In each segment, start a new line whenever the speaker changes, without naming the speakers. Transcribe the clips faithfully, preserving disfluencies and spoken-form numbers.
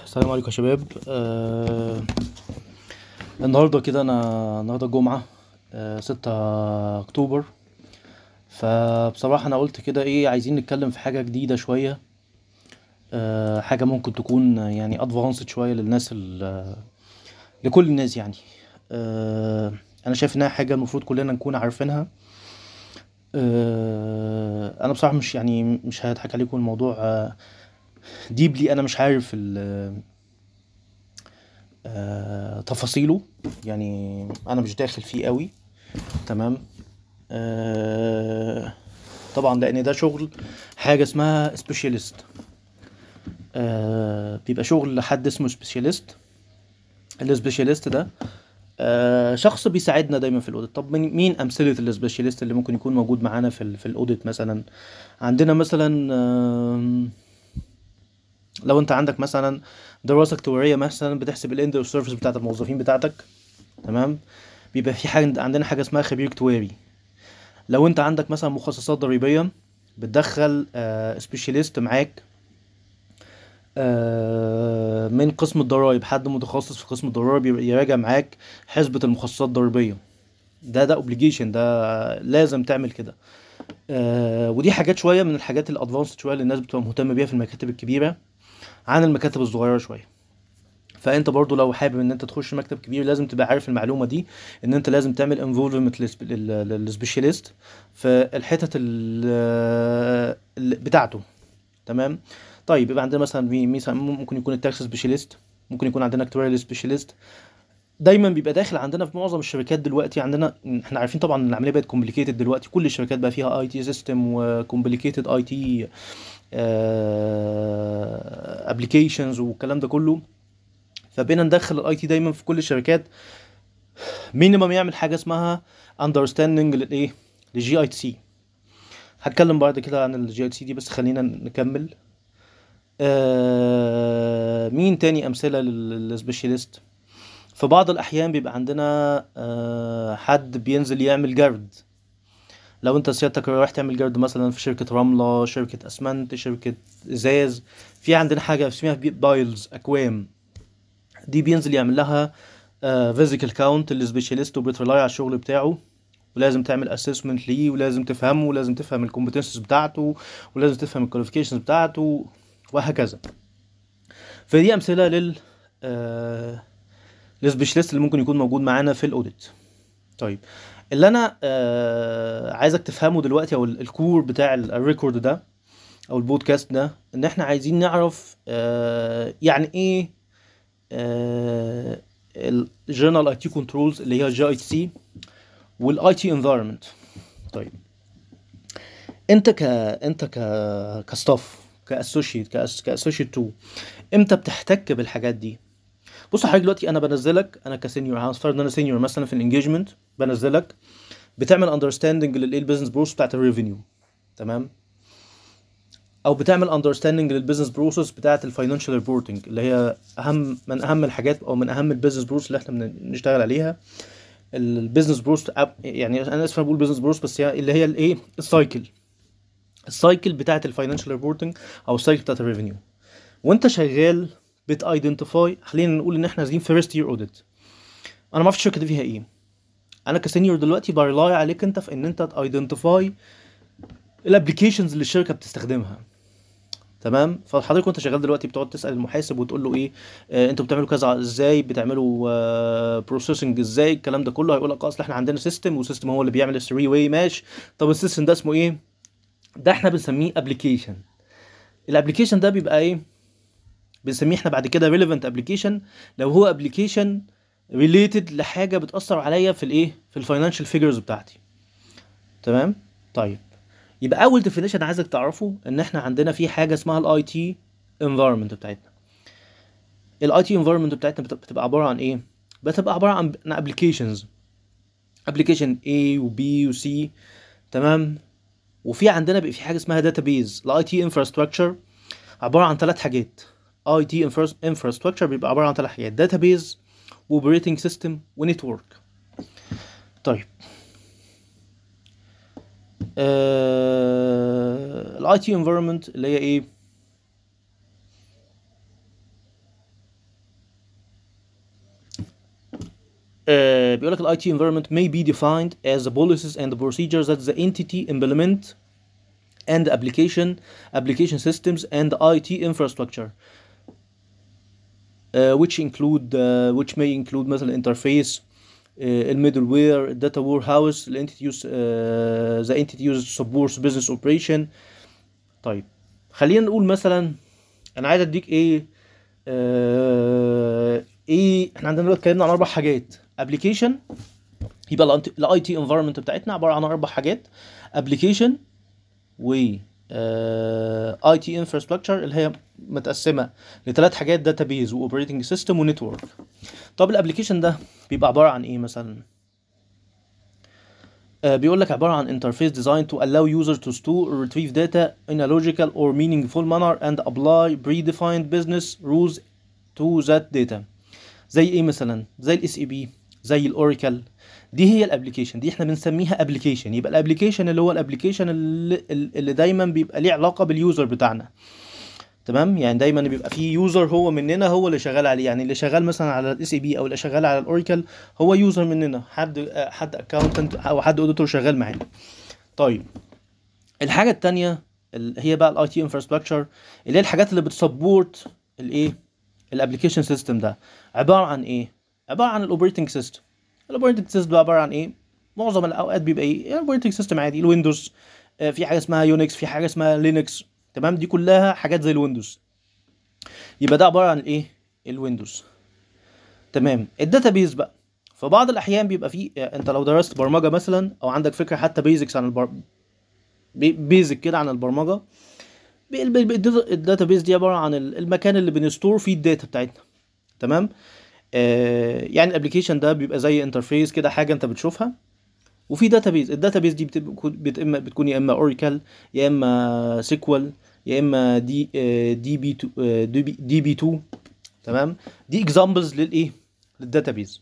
السلام عليكم يا شباب. آه النهارده كده انا النهارده الجمعه، آه ستة اكتوبر. فبصراحه انا قلت كده ايه، عايزين نتكلم في حاجه جديده شويه. آه حاجه ممكن تكون يعني ادفانسد شويه للناس ال- لكل الناس يعني. آه انا شايف انها حاجه المفروض كلنا نكون عارفينها. آه انا بصراحه مش يعني مش هضحك عليكم، الموضوع آه ديبلي انا مش عارف ال- آه تفاصيله. يعني انا مش داخل فيه قوي. تمام. آه طبعا لان ده شغل حاجه اسمها سبيشاليست. آه بيبقى شغل حد اسمه سبيشاليست. السبيشاليست ده آه شخص بيساعدنا دايما في الاوديت. طب مين مين امثله السبيشاليست اللي ممكن يكون موجود معانا في ال في الاوديت مثلا؟ عندنا مثلا آم، لو انت عندك مثلا دراسه اكتواريه مثلا بتحسب الاند اوف سيرفيس بتاعت الموظفين بتاعتك. تمام. بيبقى في حاجه عندنا حاجه اسمها خبير اكتواري. لو انت عندك مثلا مخصصات ضريبيه بتدخل آه سبيشاليست معاك، آه من قسم الضرائب، حد متخصص في قسم الضرائب يراجع معاك حسبة المخصصات الضريبية. ده ده اوبليجيشن، ده لازم تعمل كده. آه ودي حاجات شوية من الحاجات الادفانسد شوية اللي الناس بتبقى مهتمة بيها في المكاتب الكبيرة عن المكاتب الصغيرة شوية. فانت برضو لو حابب ان انت تخش مكتب كبير لازم تبقى عارف المعلومة دي، ان انت لازم تعمل انفولفمنت للسبيشاليست في الحتت ال- ال- بتاعته. تمام. طيب يبقى عندنا مثلا مي- مثلا ممكن يكون التاكس سبيشاليست، ممكن يكون عندنا اكتواريال سبيشاليست. دايما بيبقى داخل عندنا في معظم الشركات دلوقتي. عندنا احنا عارفين طبعا ان العمليه بقت كومبليكيتد دلوقتي، كل الشركات بقى فيها اي تي سيستم وكومبليكيتد اي تي ابلكيشنز والكلام ده كله. فبقينا ندخل الاي تي دايما في كل الشركات. مينيمم يعمل حاجه اسمها اندرستاندنج للايه، للجي اي تي سي. هتكلم بعد كده عن الجي اي تي سي دي، بس خلينا نكمل. آه مين تاني امثله للسبيشاليست؟ في بعض الاحيان بيبقى عندنا آه حد بينزل يعمل جرد. لو انت سيادتك رايح تعمل جرد مثلا في شركه رمله، شركه اسمنت، شركه ازاز، في عندنا حاجه اسمها بايلز، اكوام. دي بينزل يعمل لها فيزيكال كاونت السبيشاليست، وبيترلاي على الشغل بتاعه. ولازم تعمل اسسمنت ليه، ولازم تفهمه، ولازم تفهم الكومبتنسز بتاعته، ولازم تفهم الكواليفيكيشنز بتاعته، وهكذا. فدي امثله لل آه السبيشاليست اللي ممكن يكون موجود معانا في الاوديت. طيب، اللي انا آه عايزك تفهمه دلوقتي، او ال- الكور بتاع ال- الريكورد ده او البودكاست ده، ان احنا عايزين نعرف آه يعني ايه آه الجنرال اي تي كنترولز اللي هي جي اي تي سي، والاي تي انفايرمنت. طيب، انت ك انت ك كستاف، كاسوشيت كأس... كاسوشيت اتنين، امتى بتحتك بالحاجات دي؟ بص حضرتك دلوقتي انا بنزلك، انا كسينيور، هنفترض ان انا سينيور مثلا في الانجيجمنت، بنزلك بتعمل اندرستاندنج للايه، البيزنس بروسس بتاعت الريفينيو. تمام. او بتعمل اندرستاندنج للبيزنس بروسس بتاعت الفاينانشال ريبورتنج، اللي هي اهم من اهم الحاجات، او من اهم البيزنس بروسس اللي احنا بنشتغل عليها. البيزنس بروسس، يعني انا اسف أنا بقول بيزنس بروسس، بس هي اللي هي الايه، السايكل السايكل بتاعت الفاينانشال ريبورتنج، او السايكل بتاعت الريفينيو. وانت شغال بتايدنتيفاي، خلينا نقول ان احنا نازلين فيرست يير اوديت. انا ما اعرفش الشركه دي فيها ايه. انا كسينيور دلوقتي بريلاي عليك انت في ان انت تايدنتيفاي الابلكيشنز اللي الشركه بتستخدمها. تمام. فحضرتك وانت شغال دلوقتي بتقعد تسال المحاسب وتقول له ايه، آه انتوا بتعملوا كذا ازاي، بتعملوا آه بروسيسنج ازاي، الكلام ده كله. هيقول لك اصل احنا عندنا سيستم، وسيستم هو اللي بيعمل الثري واي ماش. طب السيستم ده اسمه ايه؟ ده احنا بنسميه ابلكيشن. الابلكيشن ده بيبقى ايه؟ بنسميه احنا بعد كده relevant application، لو هو application related لحاجه بتاثر عليا في الايه، في الفاينانشال فيجرز بتاعتي. تمام. طيب، يبقى اول ديفينيشن عايزك تعرفه ان احنا عندنا في حاجه اسمها الاي تي environment بتاعتنا. الاي تي environment بتاعتنا بت- بتبقى عباره عن ايه؟ بتبقى عباره عن applications application A و B و C. تمام. وفي عندنا بقى في حاجه اسمها database. الاي تي infrastructure عباره عن ثلاث حاجات. اي تي infrastructure بيبقى عباره عن ثلاث حاجات: database، واوبريتنج سيستم، ونتورك. طيب، الاي تي انفايرمنت اللي هي ايه؟ آه بيقول لك ال آي تي environment may be defined as the policies and the procedures that the entity implement and the application application systems and the آي تي infrastructure uh, which include uh, which may include مثلا interface uh, الميدلوير الداتا وير هاوس الانتيتي use uh, the entity uses supports business operation. طيب خلينا نقول مثلا انا عايز اديك ايه آه ايه احنا عندنا دلوقتي اتكلمنا عن اربع حاجات. ابلكيشن يبقى الاي تي انفايرمنت بتاعتنا عباره عن اربع حاجات: ابلكيشن و اي تي انفراستراكشر اللي هي متقسمه لثلاث حاجات: داتابيز واوبريتنج سيستم ونتورك. طب الابلكيشن ده بيبقى عباره عن ايه مثلا؟ آه بيقول لك عباره عن interface designed to allow users to store or retrieve data in a logical or meaningful manner and apply predefined business rules to that data. زي ايه مثلا؟ زي الاس اي بي، زي الاوراكل. دي هي الابلكيشن دي احنا بنسميها ابلكيشن. يبقى الابلكيشن اللي هو الابلكيشن اللي, اللي دايما بيبقى ليه علاقه باليوزر بتاعنا. تمام، يعني دايما بيبقى فيه يوزر هو مننا هو اللي شغال عليه. يعني اللي شغال مثلا على الاس اي بي او اللي شغال على الاوراكل هو يوزر مننا، حد حد اكاونتنت او حد اوديتور شغال معانا. طيب الحاجه الثانيه اللي هي بقى الاي تي انفراستراكشر، اللي هي الحاجات اللي بتسبورت الايه الابلكيشن سيستم. ده عباره عن ايه؟ عباره عن الاوبريتنج سيستم. الاوبريتنج سيستم ده عباره عن ايه؟ معظم الاوقات بيبقى ايه؟ الاوبريتنج سيستم عادي، الويندوز، آه في حاجه اسمها يونكس، في حاجه اسمها لينكس. تمام، دي كلها حاجات زي الويندوز. يبقى ده عباره عن ايه؟ الويندوز. تمام. الداتابيز بقى في بعض الاحيان بيبقى فيه، انت لو درست برمجه مثلا او عندك فكره حتى بيزكس عن البر... بيزك كده عن البرمجه، الداتابيز دي عباره عن المكان اللي بنستور فيه الداتا بتاعتنا. تمام. آه يعني الابلكيشن ده بيبقى زي انترفيس كده، حاجه انت بتشوفها، وفي داتابيز. الداتابيز دي بتبقى بتكون يا اما اوراكل يا اما سيكوال يا اما دي دي بي دي بي اتنين. تمام، دي اكزامبلز للايه للداتابيز.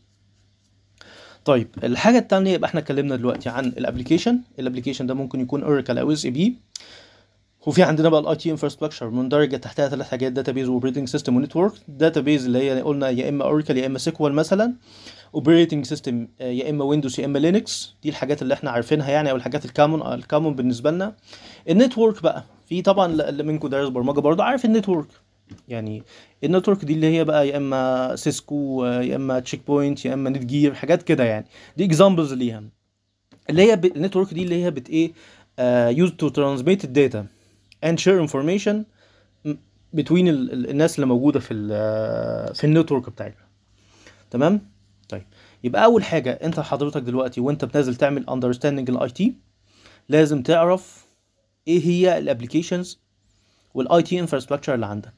طيب الحاجه الثانيه، يبقى احنا اتكلمنا دلوقتي عن الابلكيشن. الابلكيشن ده ممكن يكون اوراكل او اس اي بي. وفي عندنا بقى الاي تي انفراستراكشر مندرجه تحتها ثلاث حاجات: داتابيز واوبريتنج سيستم ونتورك. داتابيز اللي هي قلنا يا اما اوراكل يا اما سيكوال مثلا. اوبريتنج سيستم يا اما ويندوز يا اما لينكس. دي الحاجات اللي احنا عارفينها يعني، او الحاجات الكامون الكامون بالنسبه لنا. النتورك بقى، في طبعا اللي منكم دارس برمجه برضه عارف النتورك. يعني النتورك دي اللي هي بقى يا اما سيسكو يا اما تشيك بوينت يا اما نت جير، حاجات كده يعني. دي اكزامبلز ليها، اللي هي النتورك دي اللي هي بت ايه يوز تو ترانسميت الداتا and share information between ال ال الناس اللي موجوده في ال في النتورك بتاعتنا. تمام. طيب يبقى اول حاجه انت حضرتك دلوقتي وانت بتنزل تعمل understanding الاي تي، لازم تعرف ايه هي الابلكيشنز والاي تي انفراستراكشر اللي عندك.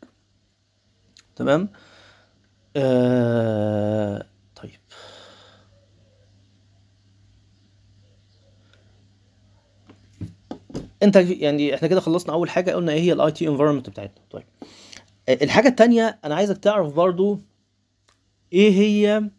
تمام. آه... طيب انت يعني احنا كده خلصنا اول حاجه، قلنا ايه هي الاي تي انفايرمنت بتاعتنا. طيب الحاجه الثانيه انا عايزك تعرف برضو ايه هي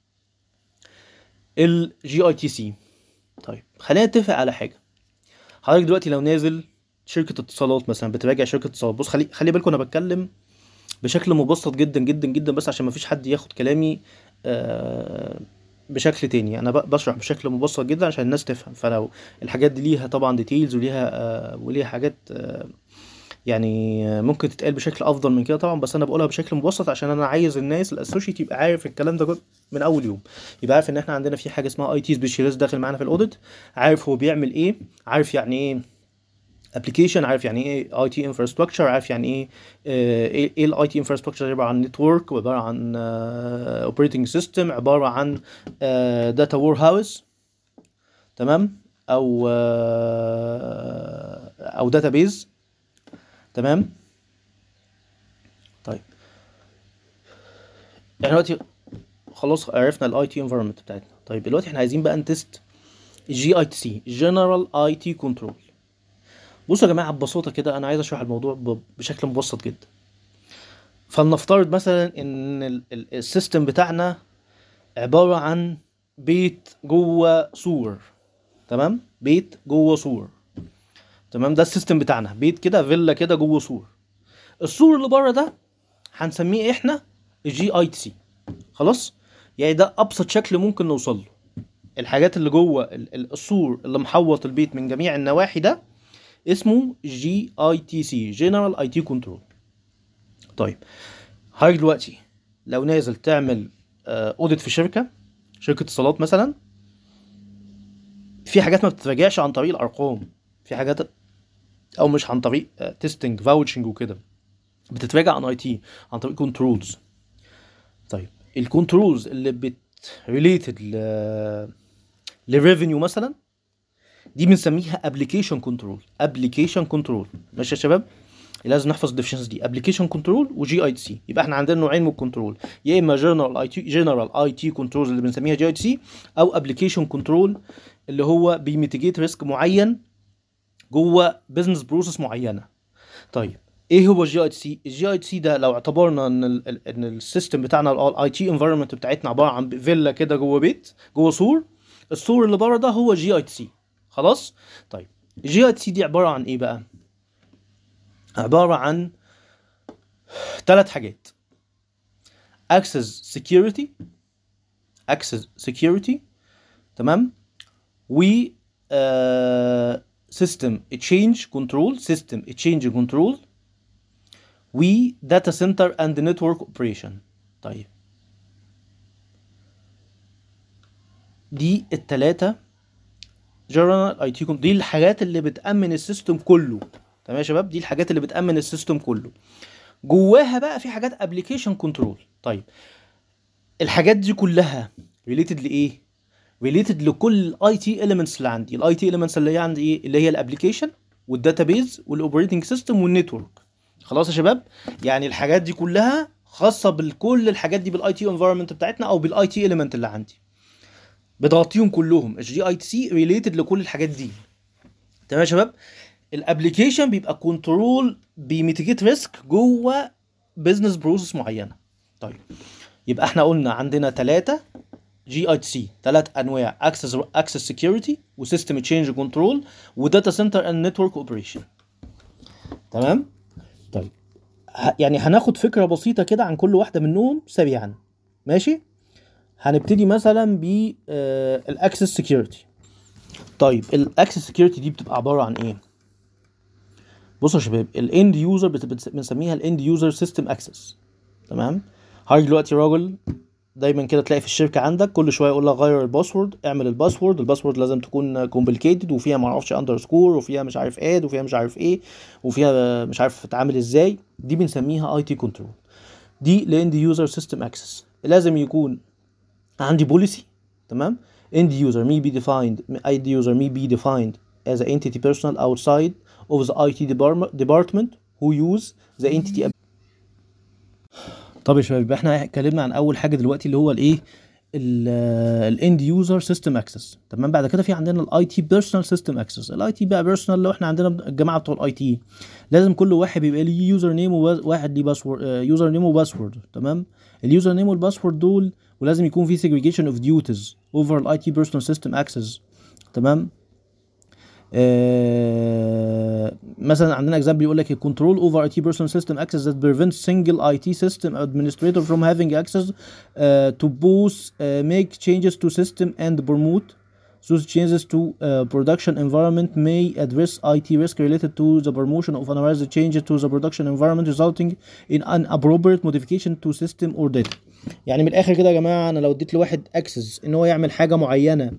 الجي اي تي سي. طيب خلينا نتفق على حاجه. حضرتك دلوقتي لو نازل شركه اتصالات مثلا، بتراجع شركه اتصالات، بص خلي خلي بالكم انا بتكلم بشكل مبسط جدا جدا جدا، بس عشان ما فيش حد ياخد كلامي آه بشكل تاني. انا بشرح بشكل مبسط جدا عشان الناس تفهم. فلو الحاجات دي ليها طبعا ديتيلز وليها آه وليها حاجات آه يعني ممكن تتقال بشكل افضل من كده طبعا، بس انا بقولها بشكل مبسط عشان انا عايز الناس الاسوشيت يبقى عارف الكلام ده من اول يوم. يبقى عارف ان احنا عندنا في حاجه اسمها اي تي سبيشاليست داخل معانا في الاوديت، عارف هو بيعمل ايه، عارف يعني ايه ابلكيشن، عارف يعني ايه اي تي انفراستراكشر، عارف يعني ايه ايه الاي تي انفراستراكشر. عباره عن نتورك، وعباره عن اوبريتنج سيستم، عباره عن داتا وير هاوس. تمام، او uh, او داتابيز. تمام. طيب احنا دلوقتي خلاص عرفنا الاي تي انفايرمنت بتاعتنا. طيب دلوقتي احنا عايزين بقى نتست الجي اي تي سي، جنرال اي تي كنترول. بصوا يا جماعه ببساطه كده، انا عايز اشرح الموضوع بشكل مبسط جدا. فلنفترض مثلا ان السيستم بتاعنا عباره عن بيت جوه سور. تمام، بيت جوه سور. تمام، ده السيستم بتاعنا، بيت كده، فيلا كده جوه سور. السور اللي بره ده هنسميه احنا الجي اي تي سي. خلاص، يعني ده ابسط شكل ممكن نوصل له. الحاجات اللي جوه السور اللي محوط البيت من جميع النواحي ده اسمه جي اي تي سي، جنرال اي تي كنترول. طيب حضرتك دلوقتي لو نازل تعمل اوديت في شركه شركه اتصالات مثلا، في حاجات ما بتتراجعش عن طريق الارقام، في حاجات او مش عن طريق تيستنج فاوتشنج وكده، بتتراجع عن اي تي عن طريق كنترولز. طيب الكنترولز اللي بت ريليتد ل للريفينيو مثلا دي بنسميها ابلكيشن كنترول. ابلكيشن كنترول ماشي يا شباب؟ لازم نحفظ الديفينيشنز دي، ابلكيشن كنترول وجي اي تي سي. يبقى احنا عندنا نوعين من الكنترول، يا اما جنرال اي تي جنرال اي تي كنترولز اللي بنسميها جي اي تي سي، او ابلكيشن كنترول اللي هو بيميتيجيت ريسك معين جوه بزنس بروسيس معينه. طيب ايه هو الجي اي تي سي؟ الجي اي تي سي ده لو اعتبرنا ان ال ان السيستم بتاعنا الاي تي انفايرمنت بتاعتنا عباره عن فيلا كده جوه بيت، جوه سور، السور اللي بره ده هو جي اي تي سي. خلاص؟ طيب الجي اي تي سي دي عباره عن ايه بقى؟ عباره عن ثلاث حاجات: access security access security تمام، و uh, system change control system change control، و data center and network operation. طيب دي التلاتة جنرال اي تي كنترول، دي الحاجات اللي بتأمن السيستم كله. تمام يا شباب؟ دي الحاجات اللي بتأمن السيستم كله. جواها بقى في حاجات ابلكيشن كنترول. طيب الحاجات دي كلها ريليتد لايه؟ ريليتد لكل الاي تي اليمنتس اللي عندي. الاي تي اليمنتس اللي هي عندي ايه؟ اللي هي الابلكيشن والداتابيز والاوبريتنج سيستم والنتورك. خلاص يا شباب؟ يعني الحاجات دي كلها خاصه بكل الحاجات دي بالاي تي انفايرمنت بتاعتنا او بالاي تي اليمنت اللي عندي، بتغطيهم كلهم. الجي اي تي سي ريليتد لكل الحاجات دي. تمام يا شباب؟ الابلكيشن بيبقى كنترول بيميتيجيت ريسك جوه بزنس بروسيس معينه. طيب يبقى احنا قلنا عندنا ثلاثه جي اي تي سي، ثلاث انواع: اكسس اكسس سكيورتي وسيستم تشينج كنترول وداتا سنتر اند نتورك اوبريشن. تمام؟ طيب يعني هناخد فكره بسيطه كده عن كل واحده منهم سريعا. ماشي؟ هنبتدي مثلا ب الاكسس سكيورتي. طيب الاكسس سكيورتي دي بتبقى عباره عن ايه؟ بصوا يا شباب، الاند يوزر بنسميها الاند يوزر سيستم اكسس. تمام؟ حضرتك دلوقتي راجل دايما كده تلاقي في الشركه عندك كل شويه يقول لك غير الباسورد، اعمل الباسورد، الباسورد لازم تكون كومبليكيتد وفيها ما اعرفش اندرسكور وفيها مش عارف اد وفيها مش عارف ايه وفيها مش عارف تتعامل ازاي. دي بنسميها اي تي كنترول. دي لاند يوزر سيستم اكسس. لازم يكون عندي بوليسي. تمام؟ end user may be defined end user may be defined as an entity personnel outside of the اي تي department who use the entity. طب يا شباب، احنا اتكلمنا عن اول حاجه دلوقتي اللي هو الايه؟ الاند يوزر سيستم اكسس. تمام؟ بعد كده في عندنا الاي تي بيرسونال سيستم اكسس. الاي تي بقى بيرسونال، لو احنا عندنا الجماعه بتوع الاي تي لازم كل واحد بيبقى ليه يوزر نيم وواحد ليه باسورد، يوزر نيم وباسورد. تمام؟ اليوزر نيم والباسورد دول، ولازم يكون في segregation of duties over الاي تي بيرسونال سيستم اكسس. تمام؟ آه مثلا عندنا اكزامبل يقول لك control over اي تي personal system access that prevents single اي تي system administrator from having access uh, to both uh, make changes to system and promote those changes to uh, production environment may address اي تي risk related to the promotion of unauthorized changes to the production environment resulting in inappropriate modification to system or data. يعني من الاخر كده يا جماعه، انا لو اديت لواحد access ان هو يعمل حاجه معينه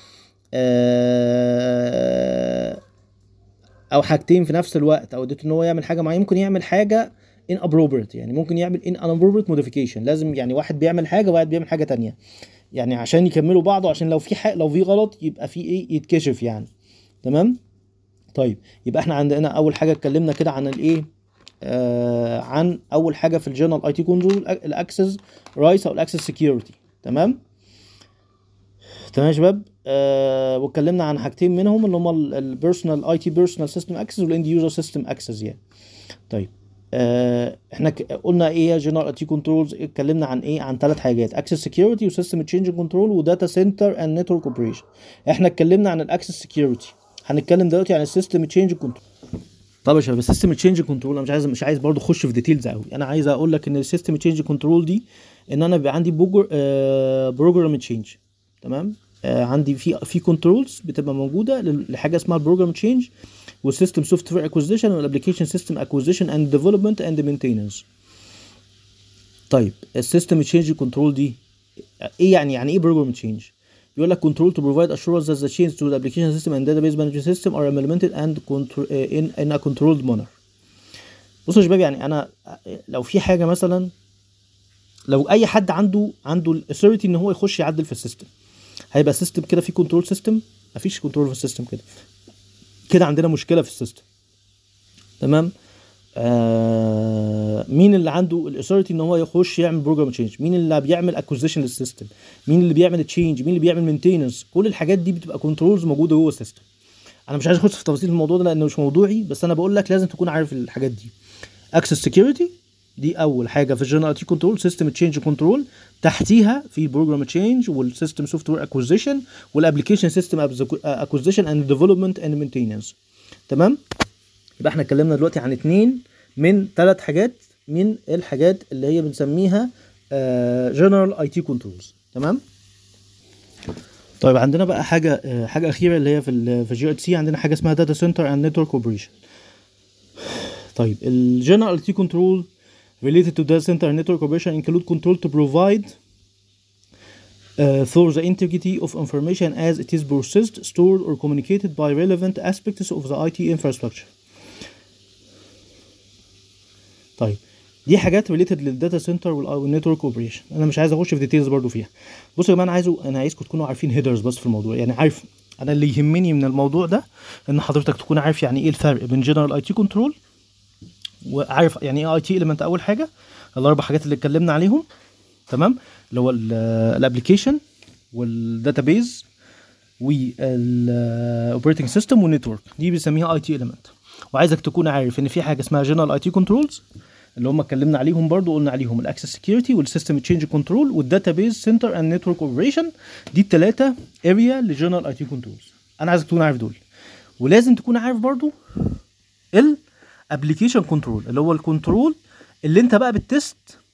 او حاجتين في نفس الوقت، او اديته ان هو يعمل حاجه معينه، ممكن يعمل حاجه inappropriate، يعني ممكن يعمل inappropriate modification. لازم يعني واحد بيعمل حاجه وواحد بيعمل حاجه تانية، يعني عشان يكملوا بعض، عشان لو في حاجه لو في غلط يبقى في ايه، يتكشف يعني. تمام؟ طيب يبقى احنا عندنا اول حاجه اتكلمنا كده عن الايه، آه عن اول حاجه في الجنرال اي تي كنترول الاكسس رايتس او الاكسس سكيورتي. تمام؟ تمام يا شباب؟ آه واتكلمنا عن حاجتين منهم اللي هما البيرسونال اي تي بيرسونال سيستم اكسس والاند يوزر سيستم اكسس يعني. طيب آه احنا قلنا ايه جنرال اي تي كنترولز؟ اتكلمنا عن ايه؟ عن ثلاث حاجات: اكسس سكيورتي وسيستم تشينج كنترول وداتا سنتر اند نتورك اوبريشن. احنا اتكلمنا عن الاكسس سكيورتي، هنتكلم دلوقتي عن السيستم تشينج كنترول. طب يا شباب، السيستم تشينج كنترول انا مش عايز مش عايز برضو اخش في ديتيلز قوي. انا عايز اقول لك ان السيستم تشينج كنترول دي ان انا بيبقى عندي بروجرام تشينج. تمام. آه عندي في في كنترولز بتبقى موجوده لحاجه اسمها البروجرام تشينج والسيستم سوفت وير اكوزيشن والابلكيشن سيستم اكوزيشن اند ديفلوبمنت اند مينتيننس. طيب السيستم تشينج كنترول دي ايه يعني؟ يعني ايه بروجرام تشينج؟ بيقول لك control to provide assurance that the changes to the application system and database management system are implemented and control in in a controlled manner. بصوا يا شباب، يعني انا لو في حاجه مثلا، لو اي حد عنده عنده الاثوريتي ان هو يخش يعدل في السيستم، هيبقى سيستم كده في كنترول سيستم، مفيش كنترول في السيستم، كده كده عندنا مشكله في السيستم. تمام. آه مين اللي عنده الاثوريتي ان هو يخش يعمل بروجرام تشينج؟ مين اللي بيعمل اكوزيشن للسيستم؟ مين اللي بيعمل تشينج؟ مين اللي بيعمل مينتيننس؟ كل الحاجات دي بتبقى كنترولز موجوده جوه السيستم. انا مش عايز اخش في تفاصيل الموضوع ده لانه مش موضوعي، بس انا بقول لك لازم تكون عارف الحاجات دي. اكسس سكيورتي دي اول حاجه في الجنرال تي كنترول، سيستم تشينج كنترول تحتيها في بروجرام تشينج والسيستم سوفت وير اكوزيشن والابلكيشن سيستم اكوزيشن اند ديفلوبمنت اند مينتيننس. تمام. يبقى احنا اتكلمنا دلوقتي عن اتنين من ثلاث حاجات من الحاجات اللي هي بنسميها جنرال اي تي كنترولز. تمام. طيب عندنا بقى حاجه uh, حاجه اخيره اللي هي في ال في جي اتش سي، عندنا حاجه اسمها داتا سنتر اند نتورك اوبريشن. طيب الجنرال اي تي كنترول related to data center and network operation include control to provide uh, for the integrity of information as it is processed, stored or communicated by relevant aspects of the اي تي infrastructure. طيب دي حاجات ريليتد للداتا سنتر والنتورك اوبريشن، انا مش عايز اخش في ديتيلز برضو فيها. بصوا يا جماعه، انا عايزه انا عايزكم تكونوا عارفين هيدرز بس في الموضوع، يعني عارف انا اللي يهمني من الموضوع ده ان حضرتك تكون عارف يعني ايه الفرق بين جنرال اي تي كنترول، وعارف يعني ايه اي تي اليمنت. اول حاجه الاربع حاجات اللي اتكلمنا عليهم، تمام، اللي هو الابلكيشن والداتابيز والاوبريتنج سيستم والنتورك، دي بنسميها اي تي اليمنت. وعايزك تكون عارف ان في حاجه اسمها جنرال اي تي كنترولز اللي هم اتكلمنا عليهم برضو، قلنا عليهم الاكسس سكيورتي والسيستم تشينج كنترول والداتابيز سنتر اند نتورك اوبريشن. دي الثلاثه اريا لجنرال اي تي كنترولز، انا عايزك تكون عارف دول. ولازم تكون عارف برضو الابلكيشن كنترول اللي هو الكنترول اللي انت بقى بتست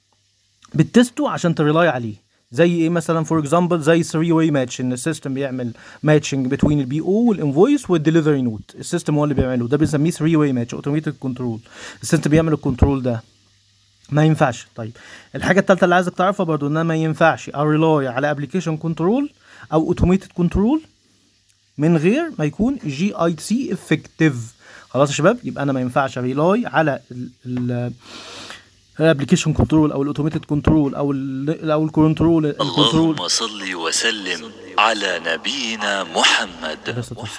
بتستو عشان تريلاي عليه. زي ايه مثلا؟ فور اكزامبل زي ثري واي ماتش، ان السيستم بيعمل ماتشنج بين البي او والانفويس والدليفري نوت، السيستم هو اللي بيعمله، ده بنسميه ثري واي ماتش اوتوميتد كنترول. السيستم بيعمل الكنترول ده، ما ينفعش. طيب الحاجه الثالثه اللي عايزك تعرفها برضو ان ما ينفعش اريلاي على ابلكيشن كنترول او اوتوميتد كنترول من غير ما يكون جي اي سي افكتيف. خلاص يا شباب، يبقى انا ما ينفعش ريلاي على ال الابلكيشن كنترول او الاوتوميتد كنترول او ال او الكنترول.
اللهم صل وسلم على نبينا محمد.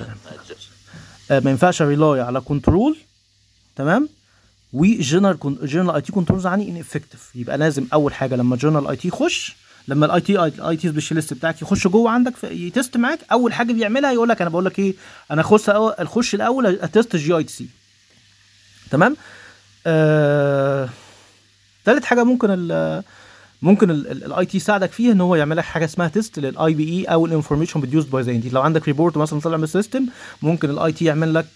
آه ما ينفعش ريلاي على كنترول، تمام، وجنرال جنرال اي تي كنترولز عني ان افكتيف. يبقى لازم اول حاجه لما جنرال اي تي يخش، لما الاي تي اي تي سبيشالست بتاعك يخش جوه عندك يتست معاك، اول حاجه بيعملها يقول لك انا بقول لك ايه، انا اخش اخش الاول اتست جي اي تي سي. تمام. آه... ثالث حاجه ممكن ال ممكن الاي تي يساعدك فيها ان هو يعمل لك حاجه اسمها تيست للاي بي اي او الانفورميشن بروديوسد باي ذا انتيتي. لو عندك ريبورت مثلا طلع من السيستم، ممكن الاي تي يعمل لك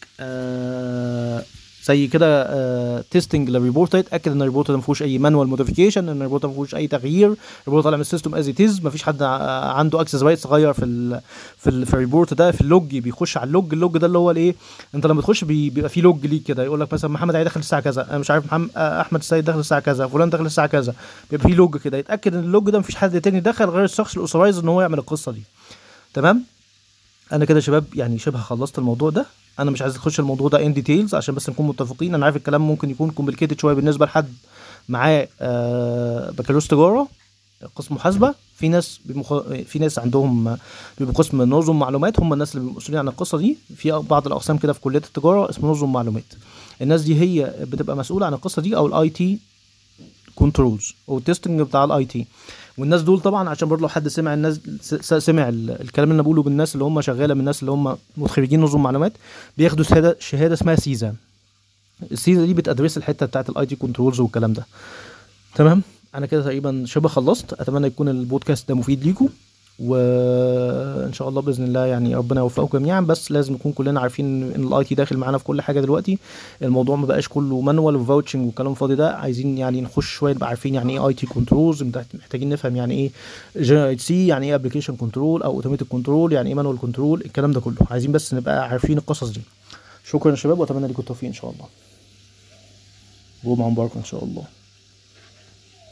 آه زي كده آه تيستنج للريبورت، يتاكد ان الريبورت ده ما فيهوش اي مانوال موديفيكيشن، ان الريبورت ما فيهوش اي تغيير، الريبورت طالع من السيستم از ات از، ما فيش حد عنده اكسس رايتس غير في ال في, ال في الريبورت ده. في اللوج بيخش على اللوج، اللوج ده اللي هو الايه، انت لما تخش بيبقى في لوج ليك كده يقول لك مثلا محمد عيد دخل الساعه كذا، انا مش عارف محمد احمد السيد دخل الساعه كذا، فلان دخل الساعه كذا، بيبقى في لوج كده، يتاكد ان اللوج ده ما فيش حد تاني دخل غير الشخص الاوثرايز ان هو يعمل القصه دي. تمام. انا كده شباب يعني شبه خلصت الموضوع ده، انا مش عايز اخش الموضوع ده ان ديتيلز عشان بس نكون متفقين. انا عارف الكلام ممكن يكون كومبليكيتد شويه بالنسبه لحد معاه آه بكالوريوس تجاره قسم محاسبه. في ناس بمخ... في ناس عندهم بيبقوا قسم نظم معلومات، هم الناس اللي بيبقوا مسؤولين عن القصه دي. في بعض الاقسام كده في كليه التجاره اسمه نظم معلومات، الناس دي هي بتبقى مسؤوله عن القصه دي، او الاي تي كنترولز او التستنج بتاع الاي تي. والناس دول طبعا عشان برضه لو حد سمع الناس سمع الكلام اللي انا بقوله بالناس اللي هم شغاله من الناس اللي هم متخرجين نظم معلومات، بياخدوا شهاده شهاده اسمها سيزا. السيزا دي بتدرس الحته بتاعه الاي تي كنترولز والكلام ده. تمام. انا كده تقريبا شبه خلصت، اتمنى يكون البودكاست ده مفيد ليكم، وان شاء الله باذن الله يعني ربنا يوفقكم جميعا. بس لازم نكون كلنا عارفين ان الاي تي داخل معانا في كل حاجه دلوقتي. الموضوع ما بقاش كله مانوال وفاوتشنج وكلام فاضي ده. عايزين يعني نخش شويه نبقى عارفين يعني ايه اي تي كنترولز، محتاجين نفهم يعني ايه جنرال سي، يعني ايه ابلكيشن كنترول او اوتوماتيك كنترول، يعني ايه مانوال كنترول، الكلام ده كله عايزين بس نبقى عارفين القصص دي. شكرا يا شباب واتمنى لكم التوفيق ان شاء الله. جمعه مباركه ان شاء الله.